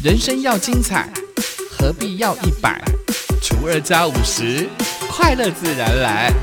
人生要精彩，何必要100？除2加50，快乐自然来。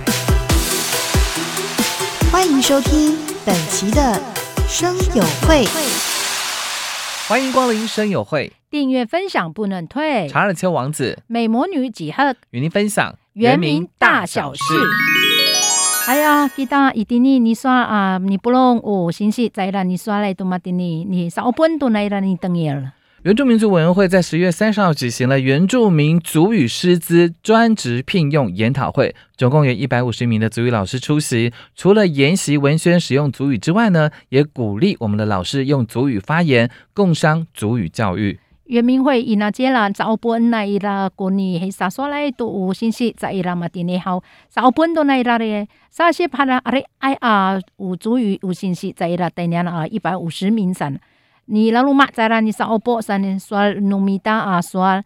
欢迎收听本期的声友会。 欢迎光临声友会， 订阅分享不能退。 查尔丘王子、 美魔女几何与您分享原名大小事。哎呀，kita itini ni soal ni pulong sinsi zaira ni soal itu matini ni saupun tu naira ni tengil。 原住民族委员会在10月30号举行了原住民族语师资专职聘用研讨会，总共有150名的族语老师出席。除了研习文宣使用族语之外呢，也鼓励我们的老师用族语发言，共商族语教育。 原民会ina jela saupun naira kuni hisa soalai tu sinsi zaira matini hau saupun tu naira re sa些para are ai族语sinsi zaira tenian 150名san。你lalu mak cara ni sa opo san soal numita soal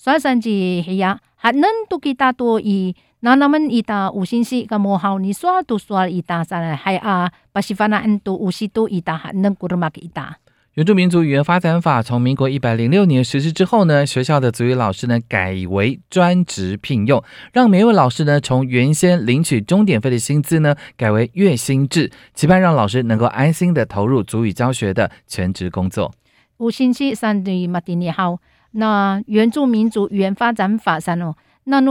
sanji ya hanen tu kita tu I nanaman ita usinsi kamo hau ni soal tu soal ita san hai pasifana entu usitu ita hanen kurmak ita。 原住民族语言发展法从民国106年实施之后呢，学校的族语老师呢改为专职聘用，让每位老师呢从原先领取钟点费的薪资呢改为月薪制，期盼让老师能够安心的投入族语教学的全职工作。 usinsi san di matini hau那原住民族语言发展法san那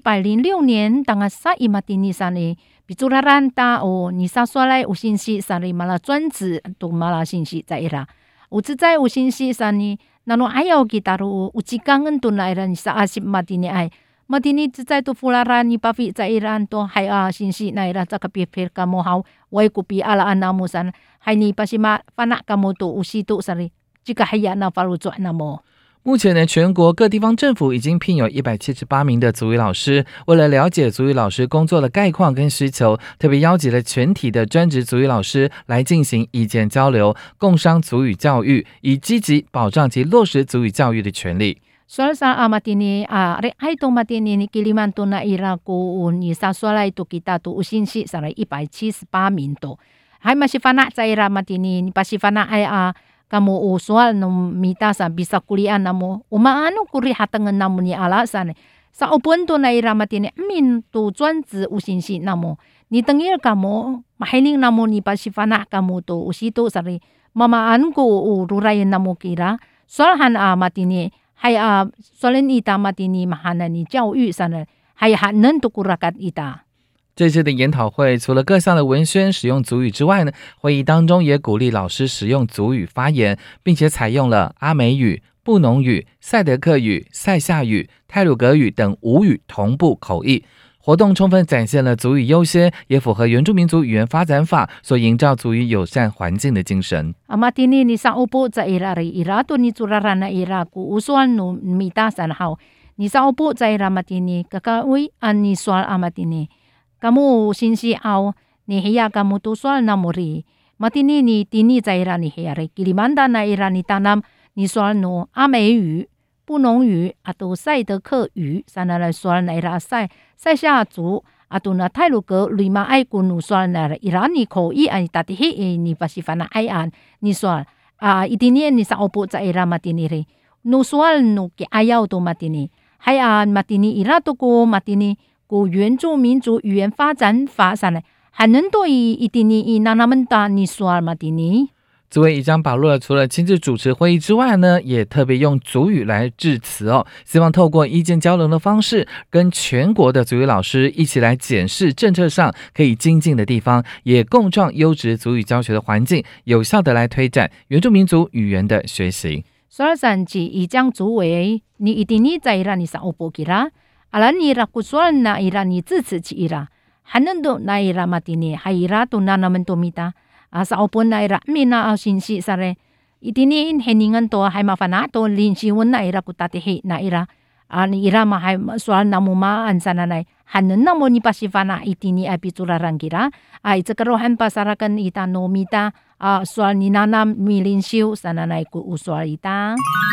106年当sa I matini san ni bicuraran ta ni sa soalai usinsi san mala 专职tu mala sinsi zaira。有自在有信息上呢，那侬还要给大陆有几港人都来了，你是20马丁尼爱，马丁尼自在都富拉拉你巴菲在伊朗都还信息来了，这个别别个么好，我也古比阿拉安那么山，还你巴西马发那个么都有西都上哩，这个还要那法律做那么。 目前呢，全国各地方政府已经聘有178名的族语老师。为了了解族语老师工作的概况跟需求，特别邀集了全体的专职族语老师来进行意见交流，共商族语教育，以积极保障及落实族语教育的权利。 Soal sa matini ai to matini ni Kilimantan na ira ko ni sa soalai to kita to usinsi sa 178名to。还masih fana sa ira matini ni pasi fana ai kamu soal no mita sa bisa kuliah namo umaano kuri hatangan namo ni alasan sa upon to na ira matini min to 专职usinsi namo ni tengil kamu mahiling namo ni pasi fana kamu to usito sari mamaan ko ruray namo kira soal han matini hay soalin ita matini mahana ni 教育上呢还hanen to kurakat ita。 这次的研讨会除了各项的文宣使用族语之外呢，会议当中也鼓励老师使用族语发言，并且采用了阿美语、布农语、赛德克语、塞夏语、太鲁阁语等5语同步口译。活动充分展现了族语优先，也符合原住民族语言发展法所营造族语友善环境的精神。 Amatini ni sa upo sa ira ira to ni turarana ira ku usual no mitasan hau ni sa upo sa ira matini kakawi ani soal amatini。kamu sinsi au ni hiya kamu tu soal namuri matini ni tini zaira ni hiya re Kilimantan na ira ni tanam ni soal no 阿美语、布农语atau 赛德克语 sana la soal na ira 塞夏族atau na 太鲁阁 lima ai kunu soal na ira ni ko I ai tatihi ni pasifana ai an ni soal itini ni sa opo sa ira matini re no soal no ki ayaw to matini hay matini ira to ko matini古原住民族语言发展法上呢，还能对一定的那们大你说嘛的呢？ 组委已将把握了除了亲自主持会议之外呢，也特别用族语来致辞希望透过意见交流的方式，跟全国的族语老师一起来检视政策上可以精进的地方，也共创优质族语教学的环境，有效的来推展原住民族语言的学习。 所以上次已将组委你一定你在让你上欧波去啦。ala ni ra kusual na ira ni zitsi ci ira hanendo na ira matini haira to na naman tomita sa opon na ira mina sinsi sare itini in heningan to hay mafana to linsiwon na ira kutatihi na ira ni ira ma hay soal namuma ansana nay hanen namo ni pasifana itini apiturarang kira ay tsakarohan pasarakan ita nomita soal ni nanam milinsiw sana nay ku usual ita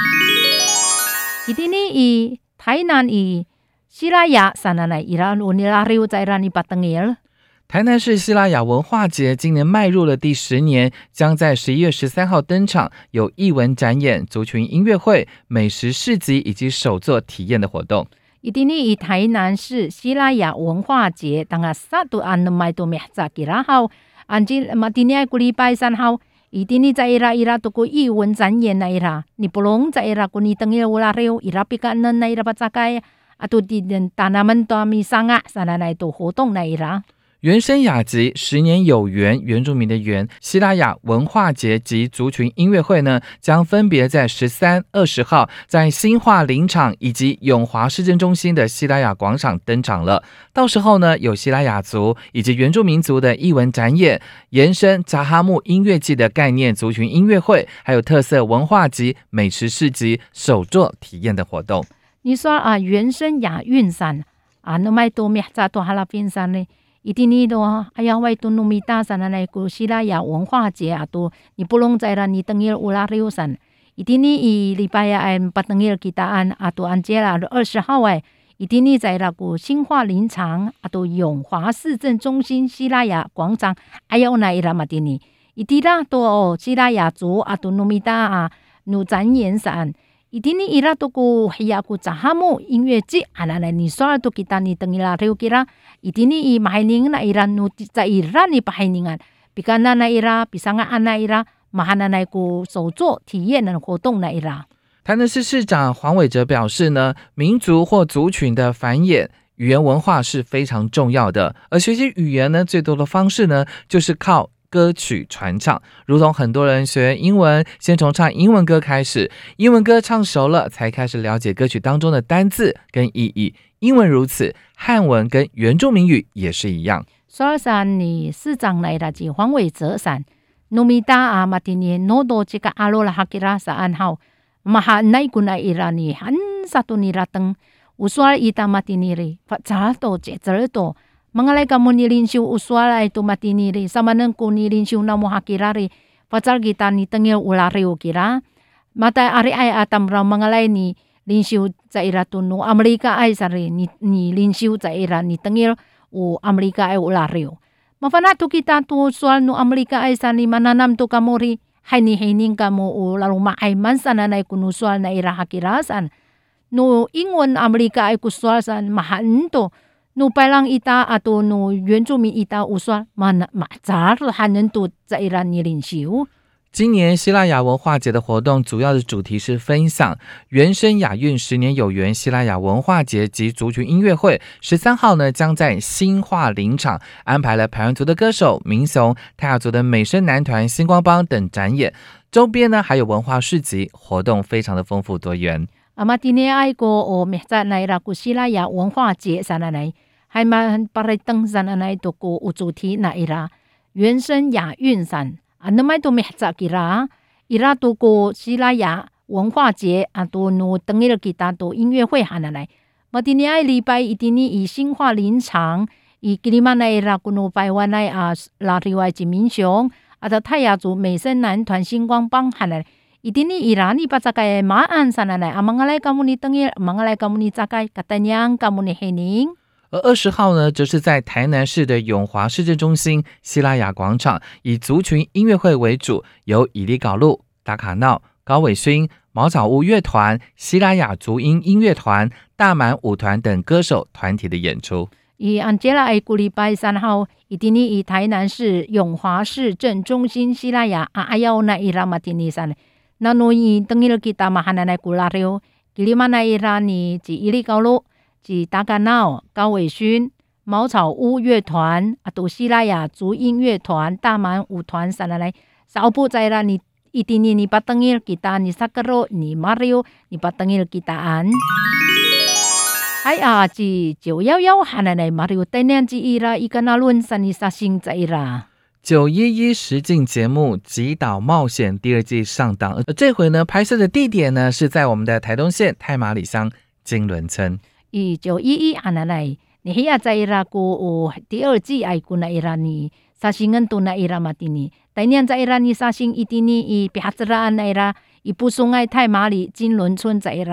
itini I Tainan I西拉雅山那伊拉罗尼拉riu在伊拉尼巴登耶。 台南市西拉雅文化节今年迈入了第10年，将在11月13号登场，有艺文展演、族群音乐会、美食市集以及手作体验的活动。 一定以台南市西拉雅文化节当个1 November 9号，安今马今年个礼拜3号，一定在伊拉都个艺文展演那伊拉，你不拢在伊拉个你等伊乌拉热，伊拉比干那伊拉巴扎盖，啊都di tanaman to mi sanga sana那都活动那伊拉。 原生雅集10年有缘，原住民的缘，西拉雅文化节及族群音乐会呢，将分别在13、20号在新化林场以及永华市政中心的西拉雅广场登场了。到时候呢，有西拉雅族以及原住民族的艺文展演，延伸扎哈木音乐季的概念族群音乐会，还有特色文化及美食市集、手作体验的活动。 你说啊，原生雅韵山啊，那么多咩在多哈拉边山呢？一定你多，哎呀，外头努米大山那个西拉雅文化节啊，都你不拢在啦，你等于乌拉六山，一定你一礼拜呀，不等于kita安啊，都安接啦，20号哎，一定你在那个新化林场啊，都永华市政中心西拉雅广场，哎呀，那伊拉嘛的呢，一定啦，都哦西拉雅族啊，都努米大啊，努展演山。一定你伊拉都个系呀个扎哈木音乐节，啊那你说都kita你等伊拉六kita，一定你伊马宁那伊拉努在伊拉你马宁啊，比干那伊拉比上个那伊拉马哈那个手作体验的活动那伊拉。 台南市市长黄伟哲表示呢，民族或族群的繁衍。语言文化是非常重要的，而学习语言呢，最多的方式呢，就是靠歌曲传唱，如同很多人学英文，先从唱英文歌开始，英文歌唱熟了，才开始了解歌曲当中的单字跟意义。英文如此，汉文跟原住民语也是一样。 所以说，你市长来的是黄伟哲山，努米达啊，马蒂尼诺多这个阿罗拉哈吉拉萨安好，马哈奈古奈伊拉尼很萨多尼拉登，乌苏尔伊达马蒂尼里发查多接着多。Mangalay kamu ni linsyu uswala ito matini ri sama nang ko ni linsyu na mo hakira ri pacal kita ni tengil ulareo kira mata ari ay atam ra mangalay ni linsyu sa ira tunu Amerika ay sari ni linsyu sa ira ni tengil u Amerika ay ulareo mafanato kita tu swal no Amerika ay sani mananam to kamori hay ni hining kamu u laruma ay mansana na kunu swal na ira hakirasan no ingon Amerika ay kuswal san mahan to no palang ita ato no 原住民 ita uswa man mazar hanen to在伊拉尼领袖。 今年西拉雅文化节的活动主要的主题是分享原生雅韵10年有缘西拉雅文化节及族群音乐会。13号呢，将在新化林场安排了排湾族的歌手民雄、泰雅族的美声男团星光帮等展演，周边呢还有文化市集，活动非常的丰富多元。 阿玛蒂尼爱国哦，咩在那拉古西拉雅文化节上来，还蛮把来登上来都个有主题那伊拉原生雅韵山啊，那么都咩在伊拉都个西拉雅文化节啊，都no登伊拉吉他都音乐会喊来，马蒂尼爱礼拜一定你以新化林场，以吉里曼那伊拉古no台湾来啊，拉里外及民雄啊，到泰雅族美声男团星光帮喊来。一定你伊拉你把这个马鞍上来，啊，mangalay kamu ni tengil， mangalay kamu ni cakai， katanyang kamu ni hening。 而20号呢，则是在台南市的永华市政中心西拉雅广场，以族群音乐会为主，由以利搞路、达卡闹、高伟勋、茅草屋乐团、西拉雅族音音乐团、大满舞团等歌手团体的演出。 以安杰拉埃古礼拜3号，一定你以台南市永华市政中心西拉雅阿要那伊拉马蒂尼山。那诺伊等于kita mahana na kulareo， kilima na ira ni 及伊利高路、及达嘎闹、高伟勋、茅草屋乐团、啊，都西拉雅族音乐团、大满舞团上来，少不在啦你一定你把等于kita ni sakaro ni Mario ni把等于kita an。哎呀，及911喊来 Mario 等年及伊拉伊个那论山你杀星在啦。 911实境节目《极岛冒险》第2季上档，这回呢拍摄的地点呢是在我们的台东县太麻里乡金轮村。 以911安来，你现在伊拉个第2季爱古那伊拉尼沙星恩都那伊拉马蒂尼，但年在伊拉尼沙星一定尼以比哈兹拉那伊拉，伊不送爱太麻里金轮村在伊拉。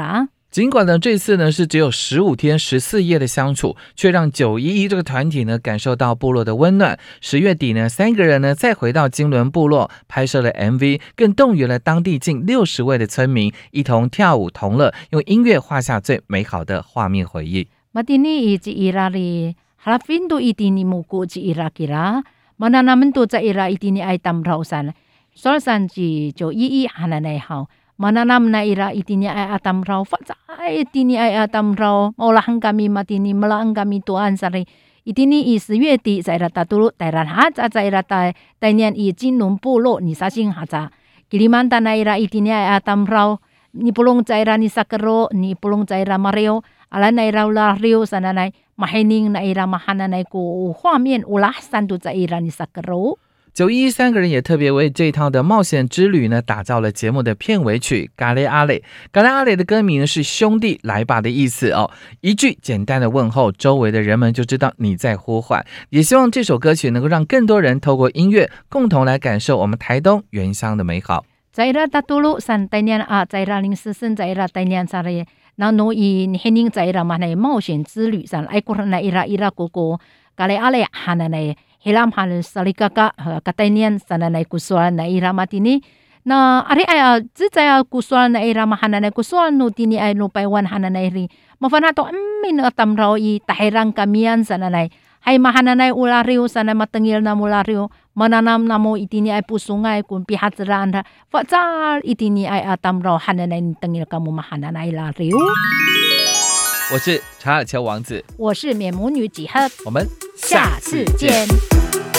尽管呢这次呢是只有15天14夜的相处，却让911这个团体呢感受到部落的温暖。10月底呢，3个人呢再回到金伦部落拍摄了 MV， 更动员了当地近60位的村民一同跳舞同乐，用音乐画下最美好的画面回忆。 Matini iti irari halafin tu itini muku ci irakira mana naman tu ca ira itini ay tamrausan solsan ci jo ii hananay hao mana nam na ira itini ay atamrau fatsa itini ay atamrau maulahan kami matini malang kami tuan sari itini 10月底在rata tulu tairan haza在rata tainian i jinlun bulo ni sasing haza Kilimantan na ira itini ay atamrau ni pulong caira ni sakero ni pulong caira mareo ala na ira ula rio sana na mahining na ira mahana na ko 画面 ulah sandu caira ni sakero。 911三个人也特别为这一趟的冒险之旅呢打造了节目的片尾曲嘎雷阿雷。嘎雷阿雷的歌名是兄弟来吧的意思哦，一句简单的问候，周围的人们就知道你在呼唤。也希望这首歌曲能够让更多人透过音乐共同来感受我们台东原乡的美好。 Caira tatulu san tainian a caira ling sesen caira tainian sare na no i hening caira mana 冒险之旅san ai kurna ira ira koko kale ale hananai hilam hal salikaka katainian sananai kusual na ira matini na ari ay zaya kusual na ira mahananai kusual no tini ay no paiwan hananai ri mafanato min atamrao i tahirang kamian sananai hay mahananay ulariw sana matengil na mulariw mananam namo itini ay pusungay kung pihatsaraan fatsal itini ay atamraw hananay tengil kamu mahananay lariw。 我是查尔乔王子， 我是缅母女几何， 我们下次见。